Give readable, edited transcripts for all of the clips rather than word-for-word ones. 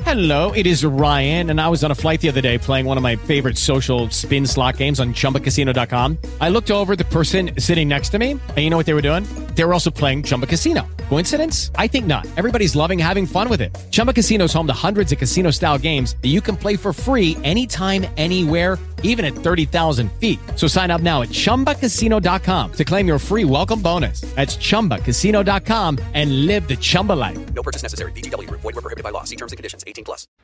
Hello, it is Ryan, and I was on a flight the other day playing one of my favorite social spin slot games on ChumbaCasino.com. I looked over at the person sitting next to me, and you know what they were doing? They were also playing Chumba Casino. Coincidence? I think not. Everybody's loving having fun with it. Chumba Casino is home to hundreds of casino-style games that you can play for free anytime, anywhere, even at 30,000 feet. So sign up now at ChumbaCasino.com to claim your free welcome bonus. That's ChumbaCasino.com and live the Chumba life. No purchase necessary. VGW. Void where prohibited by law. See terms and conditions. 18+.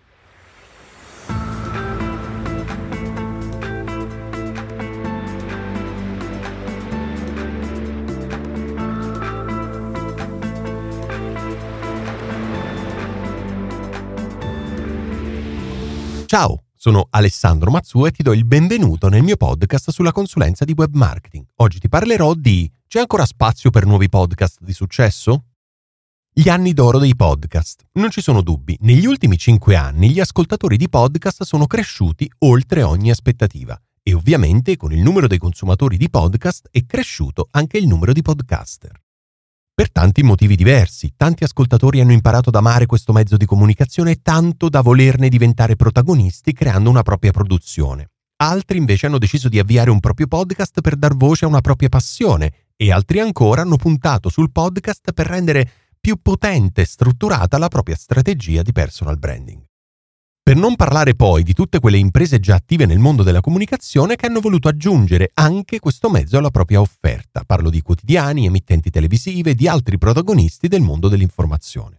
Ciao, sono Alessandro Mazzuo e ti do il benvenuto nel mio podcast sulla consulenza di web marketing. Oggi ti parlerò di: c'è ancora spazio per nuovi podcast di successo? Gli anni d'oro dei podcast. Non ci sono dubbi, negli ultimi 5 anni gli ascoltatori di podcast sono cresciuti oltre ogni aspettativa e ovviamente con il numero dei consumatori di podcast è cresciuto anche il numero di podcaster. Per tanti motivi diversi, tanti ascoltatori hanno imparato ad amare questo mezzo di comunicazione tanto da volerne diventare protagonisti creando una propria produzione. Altri invece hanno deciso di avviare un proprio podcast per dar voce a una propria passione e altri ancora hanno puntato sul podcast per rendere più potente e strutturata la propria strategia di personal branding. Per non parlare poi di tutte quelle imprese già attive nel mondo della comunicazione che hanno voluto aggiungere anche questo mezzo alla propria offerta. Parlo di quotidiani, emittenti televisive e di altri protagonisti del mondo dell'informazione.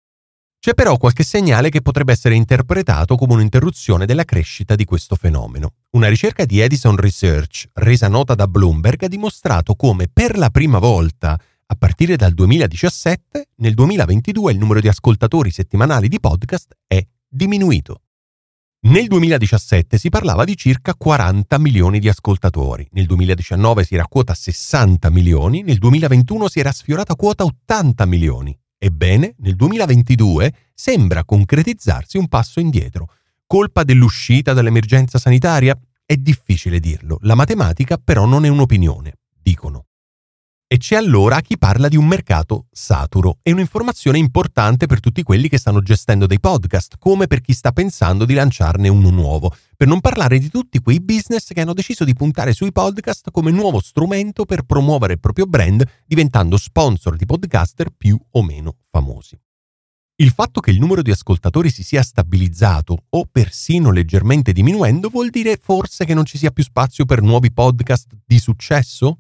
C'è però qualche segnale che potrebbe essere interpretato come un'interruzione della crescita di questo fenomeno. Una ricerca di Edison Research, resa nota da Bloomberg, ha dimostrato come per la prima volta, a partire dal 2017, nel 2022 il numero di ascoltatori settimanali di podcast è diminuito. Nel 2017 si parlava di circa 40 milioni di ascoltatori, nel 2019 si era a quota 60 milioni, nel 2021 si era sfiorata quota 80 milioni. Ebbene, nel 2022 sembra concretizzarsi un passo indietro. Colpa dell'uscita dall'emergenza sanitaria? È difficile dirlo, la matematica però non è un'opinione, dicono. E c'è allora chi parla di un mercato saturo. È un'informazione importante per tutti quelli che stanno gestendo dei podcast, come per chi sta pensando di lanciarne uno nuovo, per non parlare di tutti quei business che hanno deciso di puntare sui podcast come nuovo strumento per promuovere il proprio brand, diventando sponsor di podcaster più o meno famosi. Il fatto che il numero di ascoltatori si sia stabilizzato o persino leggermente diminuendo vuol dire forse che non ci sia più spazio per nuovi podcast di successo?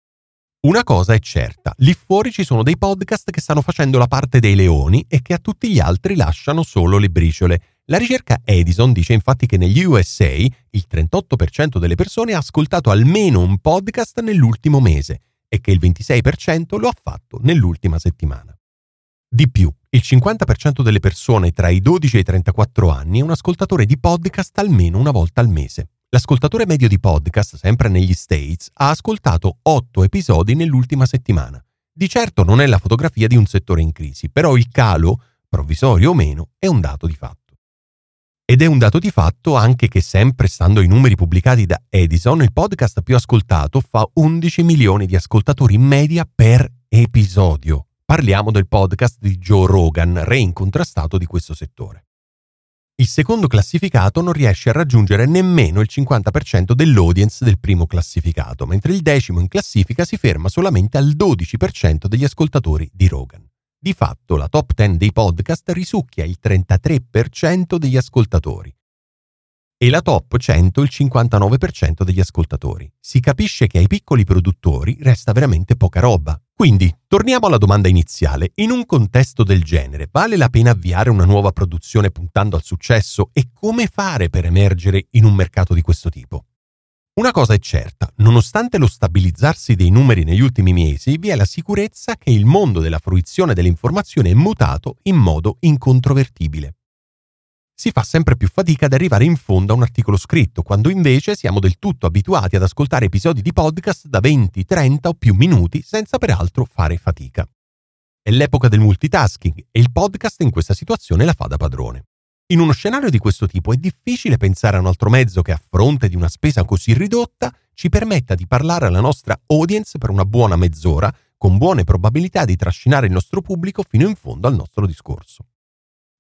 Una cosa è certa, lì fuori ci sono dei podcast che stanno facendo la parte dei leoni e che a tutti gli altri lasciano solo le briciole. La ricerca Edison dice infatti che negli USA il 38% delle persone ha ascoltato almeno un podcast nell'ultimo mese e che il 26% lo ha fatto nell'ultima settimana. Di più, il 50% delle persone tra i 12 e i 34 anni è un ascoltatore di podcast almeno una volta al mese. L'ascoltatore medio di podcast, sempre negli States, ha ascoltato 8 episodi nell'ultima settimana. Di certo non è la fotografia di un settore in crisi, però il calo, provvisorio o meno, è un dato di fatto. Ed è un dato di fatto anche che, sempre stando ai numeri pubblicati da Edison, il podcast più ascoltato fa 11 milioni di ascoltatori in media per episodio. Parliamo del podcast di Joe Rogan, re incontrastato di questo settore. Il secondo classificato non riesce a raggiungere nemmeno il 50% dell'audience del primo classificato, mentre il decimo in classifica si ferma solamente al 12% degli ascoltatori di Rogan. Di fatto, la top 10 dei podcast risucchia il 33% degli ascoltatori e la top 100 il 59% degli ascoltatori. Si capisce che ai piccoli produttori resta veramente poca roba. Quindi, torniamo alla domanda iniziale. In un contesto del genere, vale la pena avviare una nuova produzione puntando al successo? E come fare per emergere in un mercato di questo tipo? Una cosa è certa, nonostante lo stabilizzarsi dei numeri negli ultimi mesi, vi è la sicurezza che il mondo della fruizione dell'informazione è mutato in modo incontrovertibile. Si fa sempre più fatica ad arrivare in fondo a un articolo scritto, quando invece siamo del tutto abituati ad ascoltare episodi di podcast da 20, 30 o più minuti senza peraltro fare fatica. È l'epoca del multitasking e il podcast in questa situazione la fa da padrone. In uno scenario di questo tipo è difficile pensare a un altro mezzo che, a fronte di una spesa così ridotta, ci permetta di parlare alla nostra audience per una buona mezz'ora, con buone probabilità di trascinare il nostro pubblico fino in fondo al nostro discorso.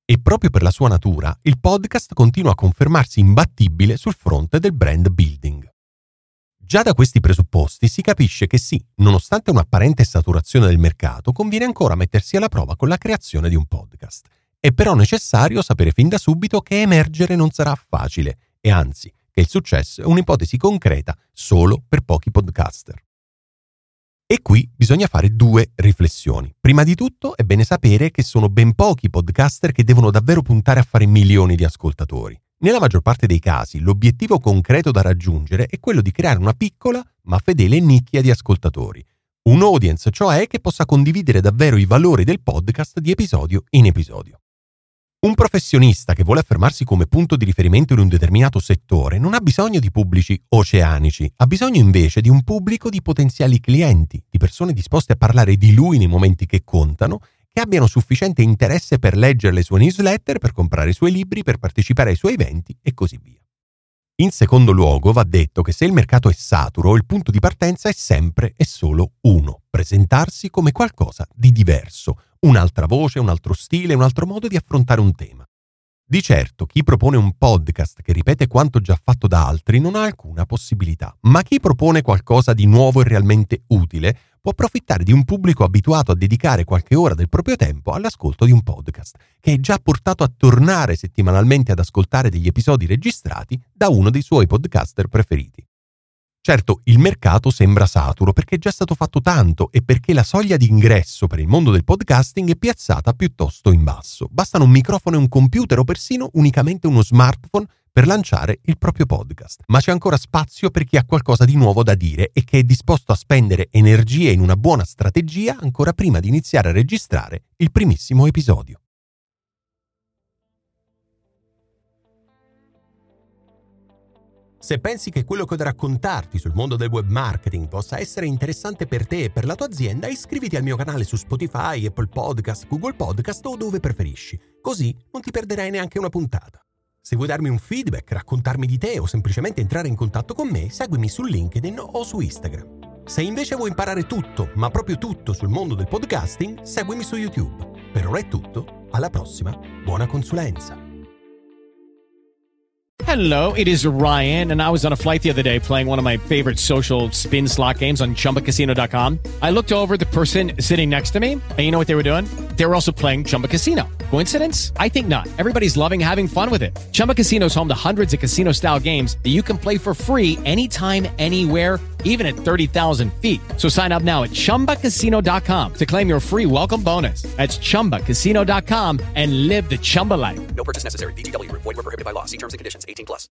E proprio per la sua natura, il podcast continua a confermarsi imbattibile sul fronte del brand building. Già da questi presupposti si capisce che sì, nonostante un'apparente saturazione del mercato, conviene ancora mettersi alla prova con la creazione di un podcast. È però necessario sapere fin da subito che emergere non sarà facile e anzi, che il successo è un'ipotesi concreta solo per pochi podcaster. E qui bisogna fare due riflessioni. Prima di tutto è bene sapere che sono ben pochi i podcaster che devono davvero puntare a fare milioni di ascoltatori. Nella maggior parte dei casi l'obiettivo concreto da raggiungere è quello di creare una piccola ma fedele nicchia di ascoltatori. Un audience, cioè, che possa condividere davvero i valori del podcast di episodio in episodio. Un professionista che vuole affermarsi come punto di riferimento in un determinato settore non ha bisogno di pubblici oceanici, ha bisogno invece di un pubblico di potenziali clienti, di persone disposte a parlare di lui nei momenti che contano, che abbiano sufficiente interesse per leggere le sue newsletter, per comprare i suoi libri, per partecipare ai suoi eventi e così via. In secondo luogo va detto che se il mercato è saturo, il punto di partenza è sempre e solo uno: presentarsi come qualcosa di diverso, un'altra voce, un altro stile, un altro modo di affrontare un tema. Di certo, chi propone un podcast che ripete quanto già fatto da altri non ha alcuna possibilità, ma chi propone qualcosa di nuovo e realmente utile può approfittare di un pubblico abituato a dedicare qualche ora del proprio tempo all'ascolto di un podcast, che è già portato a tornare settimanalmente ad ascoltare degli episodi registrati da uno dei suoi podcaster preferiti. Certo, il mercato sembra saturo perché è già stato fatto tanto e perché la soglia di ingresso per il mondo del podcasting è piazzata piuttosto in basso. Bastano un microfono e un computer o persino unicamente uno smartphone per lanciare il proprio podcast. Ma c'è ancora spazio per chi ha qualcosa di nuovo da dire e che è disposto a spendere energie in una buona strategia ancora prima di iniziare a registrare il primissimo episodio. Se pensi che quello che ho da raccontarti sul mondo del web marketing possa essere interessante per te e per la tua azienda, iscriviti al mio canale su Spotify, Apple Podcast, Google Podcast o dove preferisci. Così non ti perderai neanche una puntata. Se vuoi darmi un feedback, raccontarmi di te o semplicemente entrare in contatto con me, seguimi su LinkedIn o su Instagram. Se invece vuoi imparare tutto, ma proprio tutto sul mondo del podcasting, seguimi su YouTube. Per ora è tutto, alla prossima, buona consulenza! Hello, it is Ryan, and I was on a flight the other day playing one of my favorite social spin slot games on ChumbaCasino.com. I looked over at the person sitting next to me, and you know what they were doing? They were also playing Chumba Casino. Coincidence? I think not. Everybody's loving having fun with it. Chumba Casino is home to hundreds of casino-style games that you can play for free anytime, anywhere, even at 30,000 feet. So sign up now at ChumbaCasino.com to claim your free welcome bonus. That's ChumbaCasino.com and live the Chumba life. No purchase necessary. VGW Group. Void where prohibited by law. See terms and conditions. 18+.